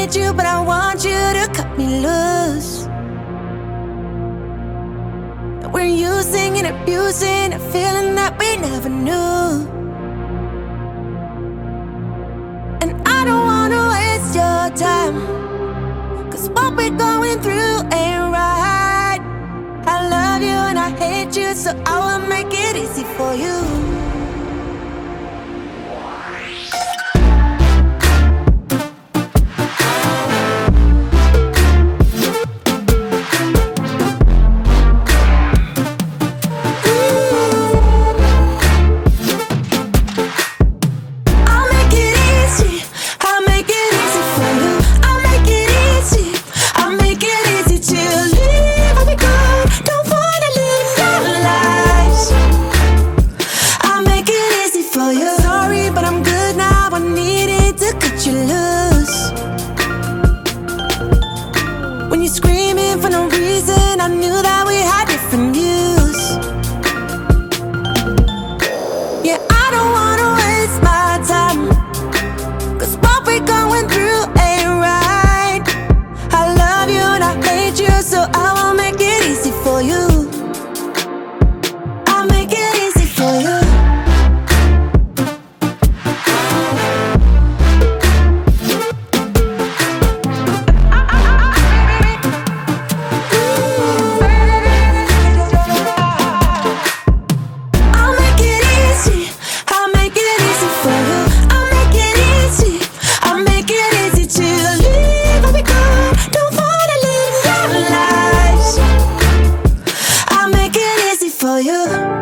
need you, but I want you to cut me loose. We're using and abusing a feeling that we never knew. And I don't wanna waste your time, 'cause what we're going through ain't right. I love you and I hate you, so I will make it easy for you. Sorry, but I'm good now. I needed to cut you loose. When you're screaming for no reason, I knew that we had different views. Yeah, I don't wanna waste my time, 'cause what we're going through ain't right. I love you and I hate you, so I will make it easy for you. I'll make it easy for you. For you.